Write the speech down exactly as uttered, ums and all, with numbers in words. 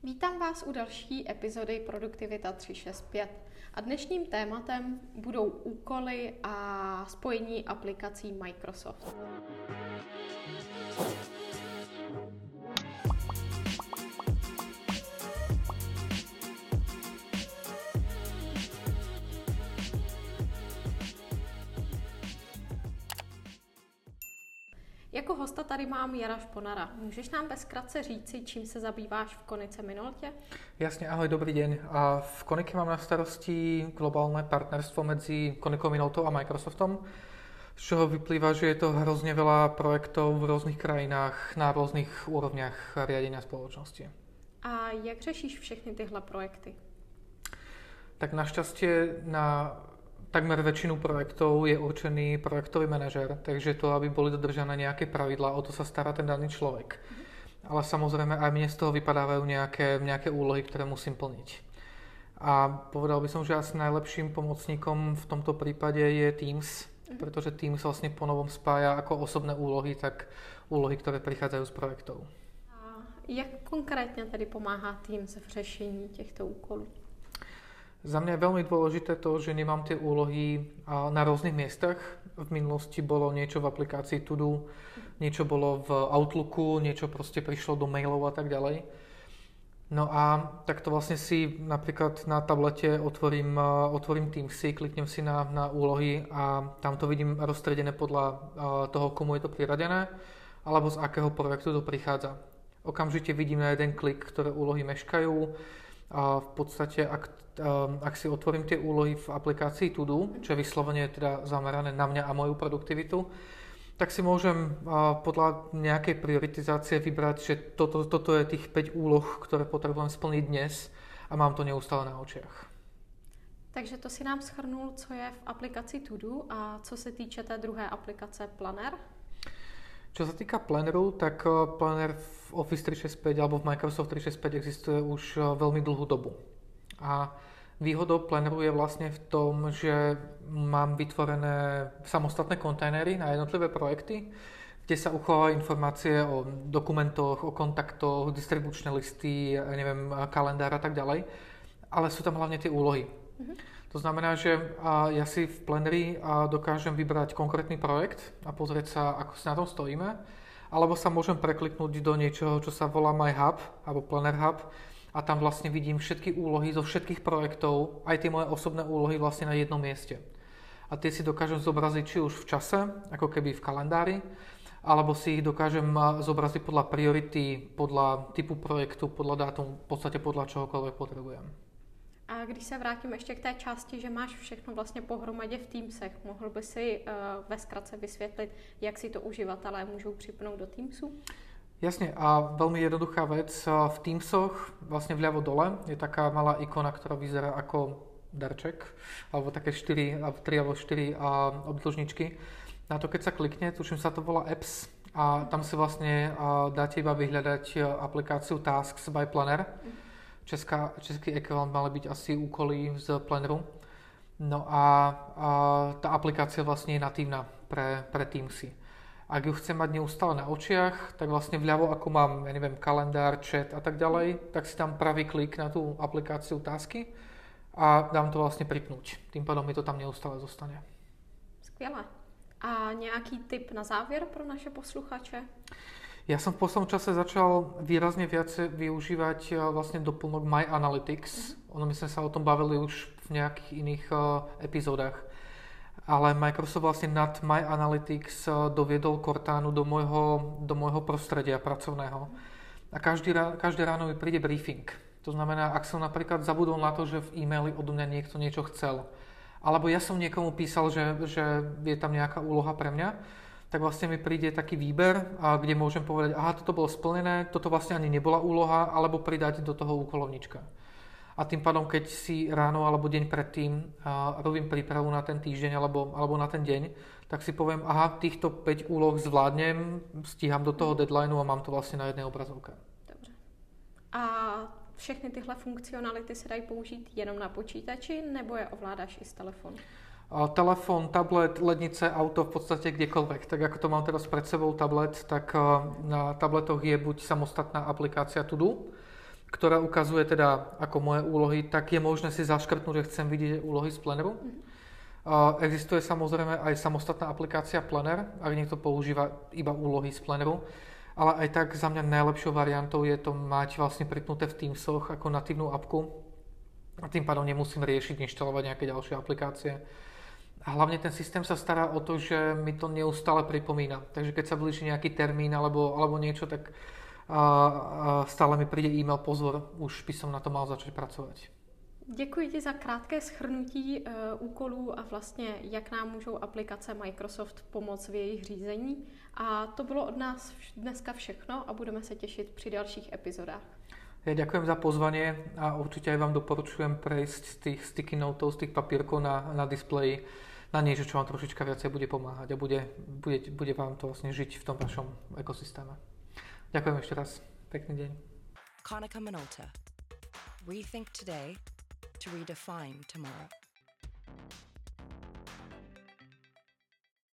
Vítám vás u další epizody Produktivita tři šest pět a dnešním tématem budou úkoly a spojení aplikací Microsoft. Jako hosta tady mám Jara Šponara. Můžeš nám ve zkratce říci, čím se zabýváš v Konice Minoltě? Jasne, ahoj, dobrý deň. A v Konike mám na starosti globálne partnerstvo medzi Konikou Minoltou a Microsoftom, z čoho vyplýva, že je to hrozne veľa projektov v rôznych krajinách na rôznych úrovniach riadenia spoločnosti. A jak řešíš všechny tyhle projekty? Tak našťastie na takmer väčšinu projektov je určený projektový manažer, takže to, aby boli dodržané nejaké pravidlá, o to sa stará ten daný človek. Mm. Ale samozrejme aj mne z toho vypadávajú nejaké, nejaké úlohy, ktoré musím plniť. A povedal by som, že asi najlepším pomocníkom v tomto prípade je Teams, mm. pretože Teams vlastne ponovom spája ako osobné úlohy, tak úlohy, ktoré prichádzajú z projektov. A jak konkrétne tedy pomáhá Teams v řešení těchto úkolů? Za mňa je veľmi dôležité to, že nemám tie úlohy na rôznych miestach. V minulosti bolo niečo v aplikácii To-Do, niečo bolo v Outlooku, niečo proste prišlo do mailov a tak ďalej. No a takto vlastne si napríklad na tablete otvorím, otvorím Teamsy, kliknem si na, na úlohy a tam to vidím rozstredené podľa toho, komu je to priradené, alebo z akého projektu to prichádza. Okamžite vidím na jeden klik, ktoré úlohy meškajú. A v podstate, ak, ak si otvorím tie úlohy v aplikácii To-Do, čo je vyslovene teda zamerané na mňa a moju produktivitu, tak si môžem podľa nejakej prioritizácie vybrať, že toto, toto je tých päť úloh, ktoré potrebujem splniť dnes a mám to neustále na očiach. Takže to si nám shrnul, co je v aplikaci To-Do a co se týče té druhé aplikace Planner? Čo sa týka Planneru, tak Planner v Office tri šesť päť alebo v Microsoft tri šesť päť existuje už veľmi dlhú dobu. A výhodou Planneru je vlastne v tom, že mám vytvorené samostatné kontajnery na jednotlivé projekty, kde sa uchovávajú informácie o dokumentoch, o kontaktoch, distribučné listy, neviem, kalendár a tak ďalej. Ale sú tam hlavne tie úlohy. Mm-hmm. To znamená, že ja si v Planneri dokážem vybrať konkrétny projekt a pozrieť sa, ako si na tom stojíme, alebo sa môžem prekliknúť do niečoho, čo sa volá My Hub, alebo Planner Hub, a tam vlastne vidím všetky úlohy zo všetkých projektov, aj tie moje osobné úlohy vlastne na jednom mieste. A tie si dokážem zobraziť či už v čase, ako keby v kalendári, alebo si ich dokážem zobraziť podľa priority, podľa typu projektu, podľa dátum, v podstate podľa čohokoľvek potrebujem. A když se vrátím ještě k té části, že máš všechno vlastně pohromadě v Teamsech, mohl by si uh, ve zkratce vysvětlit, jak si to uživatelé můžou připnout do Teamsu? Jasne, a veľmi jednoduchá vec. V Teamsoch vlastne vľavo dole je taká malá ikona, ktorá vyzerá ako darček, alebo také štyri, tri alebo štyri obdĺžničky. Na to, keď sa klikne, tuším sa to volá Apps, a tam si vlastne dáte iba vyhľadať aplikáciu Tasks by Planner. Česká, český ekvivalent mali byť asi úkoly z Planneru. No a, a tá aplikácia vlastne je natívna pre, pre Teamsy. Ak ju chcem mať neustále na očiach, tak vlastne vľavo, ako mám, ja neviem, kalendár, chat a tak ďalej, tak si tam pravý klik na tú aplikáciu Tasky a dám to vlastne pripnúť. Tým pádom mi to tam neustále zostane. Skvělé. A nějaký tip na závěr pro naše posluchače? Ja som v poslednom čase začal výrazne viac využívať vlastne doplnok My Analytics. Mm-hmm. Ono my sme sa o tom bavili už v nejakých iných uh, epizódach. Ale Microsoft vlastne nad My Analytics uh, doviedol Cortánu do môjho, do môjho prostredia pracovného. A každý, každé ráno mi príde briefing. To znamená, ak som napríklad zabudol na to, že v e-maili odo mňa niekto niečo chcel, alebo ja som niekomu písal, že, že je tam nejaká úloha pre mňa, tak vlastne mi príde taký výber, kde môžem povedať, aha, toto bolo splnené, toto vlastne ani nebola úloha, alebo pridať do toho úkolovníčka. A tým pádom, keď si ráno alebo deň predtým robím prípravu na ten týždeň alebo, alebo na ten deň, tak si poviem, aha, týchto päť úloh zvládnem, stíham do toho deadlineu a mám to vlastne na jednej obrazovke. Dobře. A všechny tyhle funkcionality se dají použít jenom na počítači, nebo je ovládáš i z telefonu? Telefón, tablet, lednice, auto, v podstate kdekoľvek. Tak ako to mám teraz pred sebou tablet, tak na tabletoch je buď samostatná aplikácia To-Do, ktorá ukazuje teda ako moje úlohy, tak je možné si zaškrtnúť, že chcem vidieť úlohy z Planneru. Mm-hmm. Uh, existuje samozrejme aj samostatná aplikácia Planner, ak niekto používa iba úlohy z Planneru, ale aj tak za mňa najlepšou variantou je to mať vlastne pripnuté v Teamsoch ako natívnu apku a tým pádom nemusím riešiť, inštalovať nejaké ďalšie aplikácie. A hlavne ten systém sa stará o to, že mi to neustále pripomína. Takže keď sa blíži nejaký termín alebo, alebo niečo, tak uh, uh, stále mi príde e-mail, pozor, už by som na to mal začať pracovať. Děkuji ti za krátké shrnutí uh, úkolů a vlastně, jak nám můžou aplikace Microsoft pomoct v jejich řízení. A to bylo od nás dneska všechno a budeme se těšit při dalších epizodách. Ja ďakujem za pozvanie a určite aj vám doporučujem prejsť z tých sticky notov, z tých papírkov na, na displeji na niečo, čo vám trošička viacej bude pomáhať a bude, bude, bude vám to vlastne žiť v tom vašom ekosystéme. Ďakujem ešte raz. Pekný deň. Konica Minolta. Rethink today to redefine tomorrow.